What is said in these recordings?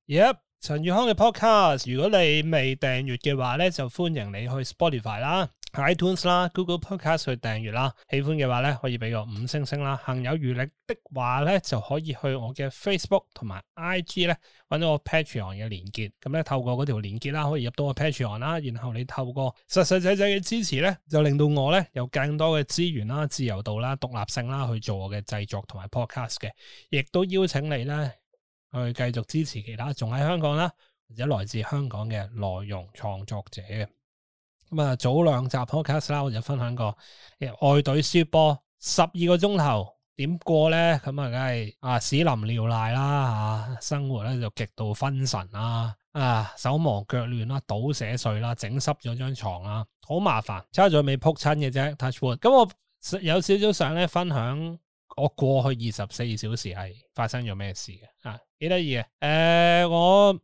Yep， 陳宇康嘅 podcast， 如果你未訂閱嘅話咧，就歡迎你去 Spotify 啦、iTunes 啦、Google Podcast 去訂閱啦。喜歡嘅話咧，可以俾個5星星啦。行有餘力的話咧，就可以去我嘅 Facebook 同埋 IG 咧，揾到我 Patreon 嘅連結。咁咧透過嗰條連結啦，可以入到我 Patreon 啦。然後你透過實實際際嘅支持咧，就令到我咧有更多嘅資源啦、自由度啦、獨立性啦，去做我嘅製作同埋 podcast 嘅。亦都邀請你咧，去繼續支持其他仲喺香港啦，或者來自香港嘅內容創作者。咁啊，早2集 podcast 啦，我就分享過愛隊輸波12個鐘頭點過咧，咁啊，梗係屎淋尿瀨啦，生活咧就極度分神啦，手忙腳亂啦，倒瀉碎啦，整濕咗張床啦，好麻煩，差咗未撲親嘅啫 touch wood。咁我有少少想咧分享我過去24小時係發生咗咩事嘅，幾得意嘅。我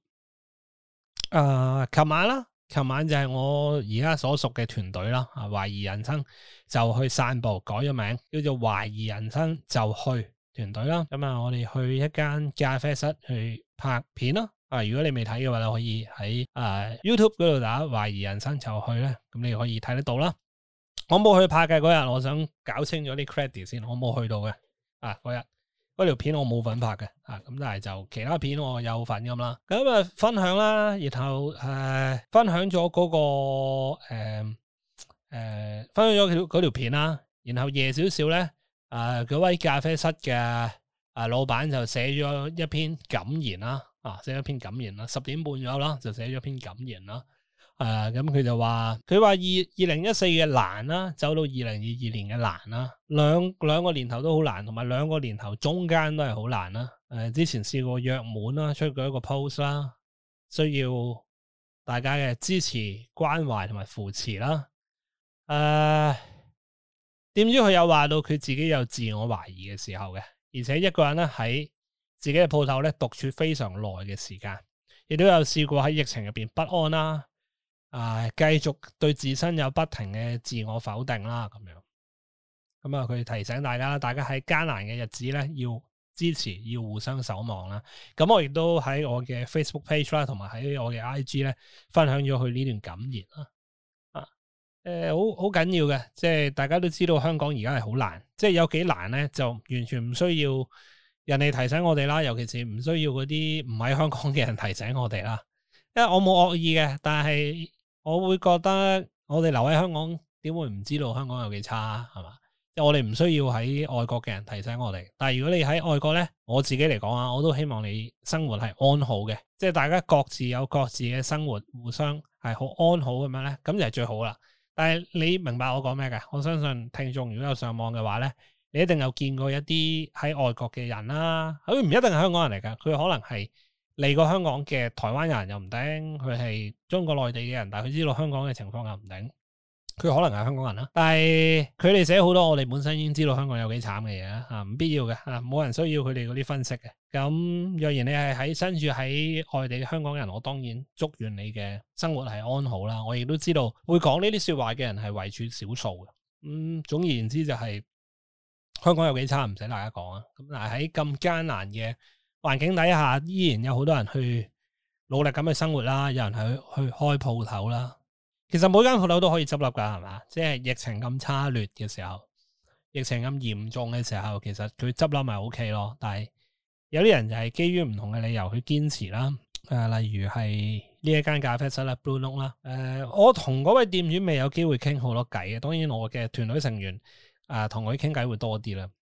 琴晚就係我而家所屬嘅團隊啦，懷疑人生就去散步，改咗名叫做懷疑人生就去團隊啦。咁我哋去一間咖啡室去拍片咯。如果你未睇嘅話，你可以喺YouTube 嗰度打懷疑人生就去咧，咁你可以睇得到啦。我冇去拍嘅嗰日，我想搞清咗啲 credit 先，我冇去到嘅。嗰日嗰條片我冇份拍嘅，咁但係就其他片我有份咁啦。咁分享啦，然後分享咗嗰個分享咗嗰條片啦。然後夜少少咧，嗰位咖啡室嘅老闆就寫咗一篇感言啦，寫咗篇感言啦，10點半左右啦，就寫咗篇感言啦。咁佢就話2014嘅難啦，走到2022年嘅難啦，兩個年頭都好難，同埋兩個年頭中間都係好難啦。之前試過約滿啦，出過一個 post 啦，需要大家嘅支持、關懷同埋扶持啦。點知佢有話到佢自己有自我懷疑嘅時候嘅，而且一個人咧喺自己嘅鋪頭咧獨處非常耐嘅時間，亦都有試過喺疫情入邊不安啦。繼續對自身有不停嘅自我否定啦，咁樣。咁佢提醒大家啦，大家喺艱難嘅日子咧，要支持，要互相守望啦。咁我亦都喺我嘅 Facebook page 啦，同埋喺我嘅 IG 咧，分享咗佢呢段感言啦。好緊要嘅，即係大家都知道香港而家係好難，即係有幾難咧，就完全唔需要人哋提醒我哋啦，尤其是唔需要嗰啲唔喺香港嘅人提醒我哋啦。因為我冇惡意嘅，但係我會覺得我哋留喺香港，點會唔知道香港有幾差，係嘛？即係我哋唔需要喺外國嘅人提醒我哋。但係如果你喺外國咧，我自己嚟講我都希望你生活係安好嘅，即係大家各自有各自嘅生活，互相係好安好咁樣咧，咁就係最好啦。但係你明白我講咩嘅？我相信聽眾如果有上網嘅話咧，你一定有見過一啲喺外國嘅人啦，佢唔一定係香港人嚟㗎，佢可能係嚟過香港嘅台灣人又唔頂，佢係中國內地嘅人，但係佢知道香港嘅情況又唔頂，佢可能係香港人啦。但係佢哋寫好多我哋本身已經知道香港有幾慘嘅嘢唔必要嘅冇人需要佢哋嗰啲分析嘅。咁若然你係身處喺外地嘅香港人，我當然祝願你嘅生活係安好啦。我亦都知道會講呢啲說話嘅人係為數少數嘅。總而言之就係香港有幾差唔使大家講啊。咁但係喺咁艱難嘅環境底下，依然有好多人去努力咁去生活啦，有人去開鋪頭啦。其實每間鋪頭都可以執笠噶，係嘛？即係疫情咁差劣嘅時候，疫情咁嚴重嘅時候，其實佢執笠咪 OK 咯。但係有啲人就係基於唔同嘅理由去堅持啦。例如係呢一間咖啡室啦 Blue Note 啦。我同嗰位店主未有機會傾好多偈嘅，當然我嘅團隊成員同佢傾偈會多啲啦。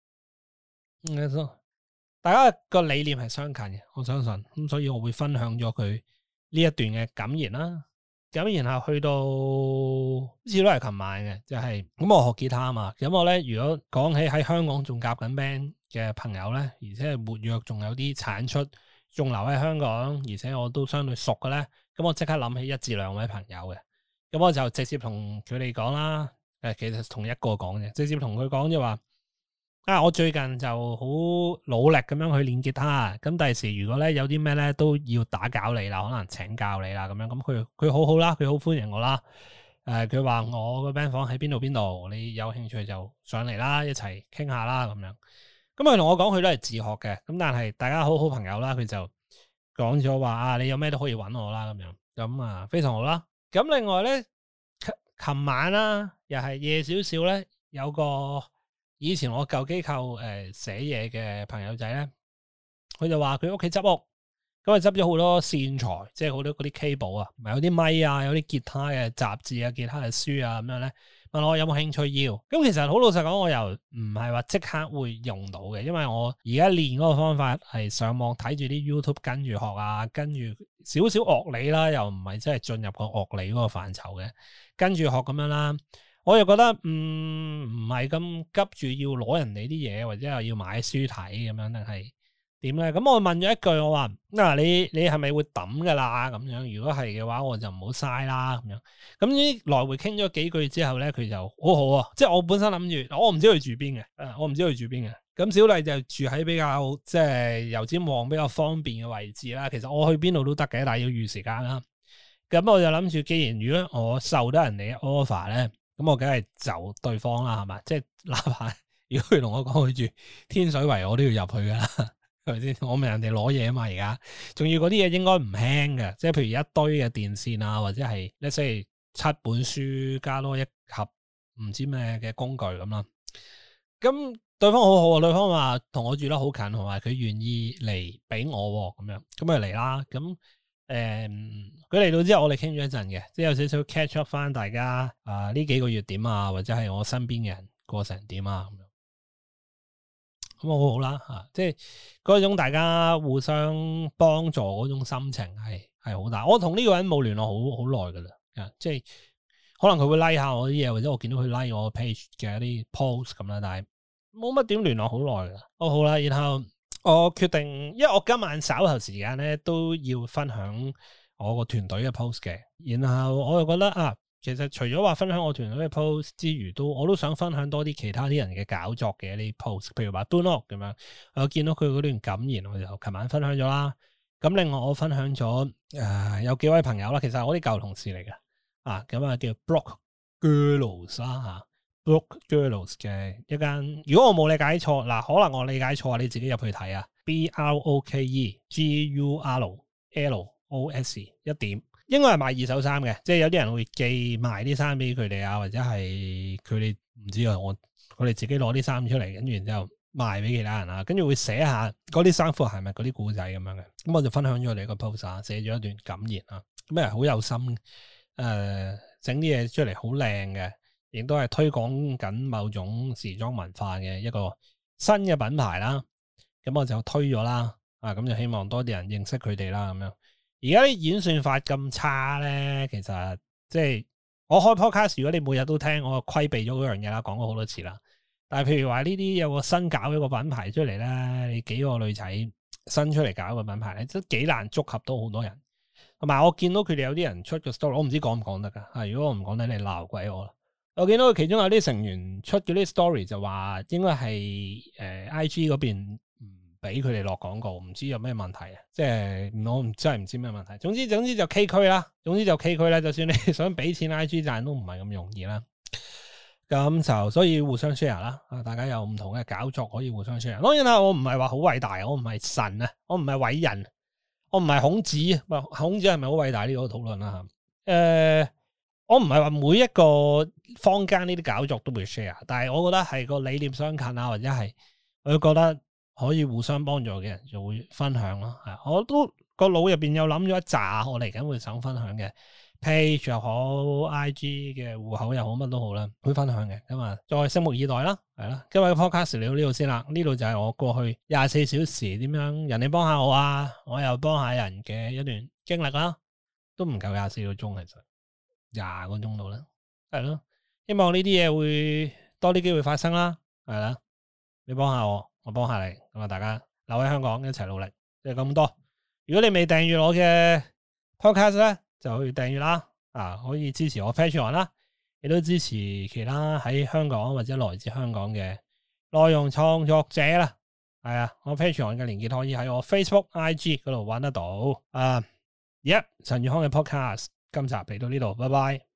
大家個理念係相近嘅，我相信咁，所以我會分享咗佢呢一段嘅感言啦。咁然後去到好似都係琴晚嘅，就係咁我學吉他啊嘛。咁我咧如果講起喺香港仲夾緊 band 嘅朋友咧，而且係活躍，仲有啲產出，仲留喺香港，而且我都相對熟嘅咧，咁我即刻諗起1至2位朋友嘅。咁我就直接同佢哋講啦。其實同一個講嘅，直接同佢講就話。我最近就好努力咁樣去練吉他，咁第時如果咧有啲咩咧都要打攪你啦，可能請教你啦咁樣，咁佢好好啦，佢好歡迎我啦。佢話我個 band 房喺邊度，你有興趣就上嚟啦，一齊傾下啦咁樣。咁佢同我講佢都係自學嘅，咁但係大家好朋友啦，佢就講咗話啊，你有咩都可以揾我啦咁樣，咁啊非常好啦。咁另外咧，琴晚啦，又係夜少少咧，有個以前我舊機構寫嘢嘅朋友仔咧，佢就話佢屋企執屋，咁啊執咗好多線材，即係好多嗰啲 cable 啊，唔係有啲咪啊，有啲吉他嘅雜誌啊，吉他嘅書啊咁樣咧。問我有冇興趣要？咁其實好老實講，我又唔係話即刻會用到嘅，因為我而家練嗰個方法係上網睇住啲 YouTube 跟住學啊，跟住少少樂理啦，又唔係真係進入個樂理嗰個範疇嘅，跟住學咁樣啦。我又覺得唔係咁急住要攞人哋啲嘢，或者係要買書睇咁樣，定係點咧？咁我問咗一句，我話你係咪會抌噶啦？咁樣如果係嘅話，我就唔好嘥啦。咁樣咁呢來回傾咗幾句之後咧，佢就好好啊。即係我本身諗住，我唔知佢住邊嘅，我唔知佢住邊嘅。咁小麗就住喺比較即係油尖旺比較方便嘅位置啦。其實我去邊度都得嘅，但係要預時間啦。咁我就諗住，既然如果我受得人哋嘅 offer 咧，咁我梗係就對方啦，係嘛？即係哪怕如果佢同我講佢住天水圍，我都要入去噶啦。係咪先？我問人哋攞嘢啊嘛，而家仲要嗰啲嘢應該唔輕嘅，即係譬如一堆嘅電線啊，或者係即係7本書加多一盒唔知咩嘅工具咁啦。咁對方好好啊，對方話同我住得好近，同埋佢願意嚟俾我咁樣，咁咪嚟啦。咁佢嚟到之後，我哋傾咗一陣嘅，即係有少少 catch up 翻大家呢幾個月點啊，或者係我身邊嘅人過成點啊咁樣。咁好好啦吓，即係嗰種大家互相幫助嗰種心情係好大。我同呢個人冇聯絡好耐噶啦，即係可能佢會 like 下我啲嘢，或者我見到佢 like 我 page 嘅一啲 post 咁啦，但係冇乜點聯絡好耐噶啦。好啦，然後我決定，因為我今晚稍後時間咧都要分享我個團隊嘅 post 嘅，然後我又覺得其實除咗話分享我團隊嘅 post 之餘，我都想分享多啲其他啲人嘅搞作嘅一啲 post， 譬如話 Dunno 咁樣，我見到佢嗰段感言，我就琴晚分享咗啦。咁另外我分享咗有幾位朋友啦，其實係我啲舊同事嚟嘅，咁叫 Block Girls 啦，Block Girls 嘅一間，如果我冇理解錯，可能我理解錯，你自己入去睇啊 BROKEGURLOS 一點。應該係賣二手衫嘅，即係有啲人會寄賣啲衫俾佢哋啊，或者係佢哋唔知啊，佢哋自己攞啲衫出嚟，跟住然之後賣俾其他人啊，跟住會寫下嗰啲衫褲係咪嗰啲古仔咁樣嘅。咁我就分享咗你個 post 啊，寫咗一段感言啊，咁係好有心，整啲嘢出嚟好靚嘅，亦都係推廣緊某種時裝文化嘅一個新嘅品牌啦。咁我就推咗啦，咁就希望多啲人認識佢哋啦，咁樣。而家啲演算法咁差咧，其實即係我開 podcast，如果你每日都聽，我就規避咗嗰樣嘢啦，講過好多次啦。但係譬如話呢啲有個新搞一個品牌出嚟咧，你幾個女仔新出嚟搞一個品牌咧，都幾難觸及到好多人。同埋我見到佢哋有啲人出個 story，我唔知講唔講得噶。如果我唔講得，你鬧鬼我啦。我見到佢其中有啲成員出嗰啲 story 就話，應該係IG 嗰邊俾佢哋落廣告，唔知有咩問題啊？即係我真係唔知咩問題。總之就 K 區啦，就算你想俾錢 IG 賺都唔係咁容易啦。咁就所以互相 share 啦，大家有唔同嘅搞作可以互相 share。當然啦，我唔係話好偉大，我唔係神啊，我唔係偉人，我唔係孔子。孔子係咪好偉大呢個討論啦？我唔係話每一個坊間呢啲搞作都會 share，但係我覺得係個理念相近啊，或者係我覺得可以互相幫助嘅人就會分享咯。我都個腦入邊有諗咗一紮我嚟緊會想分享嘅 page 又好 IG 嘅戶口又好乜都好啦，會分享嘅。咁啊，再拭目以待啦，係啦。今日嘅 podcast 嚟到呢度先啦，呢度就係我過去24小時點樣人哋幫下我啊，我又幫下人嘅一段經歷啦，都唔夠24個鐘，其實20個鐘度啦，係咯。希望呢啲嘢會多啲機會發生啦，係啦。你幫下我，我幫下你，咁啊，大家留喺香港一齊努力，就係咁多。如果你未訂閱我嘅 podcast 咧，就去訂閱啦，可以支持我 Patreon 啦，亦都支持其他喺香港或者來自香港嘅內容創作者啦。係啊，我 Patreon 嘅連結可以喺我 Facebook、IG 嗰度揾得到。陳宇康嘅 podcast 今集嚟到呢度，拜拜。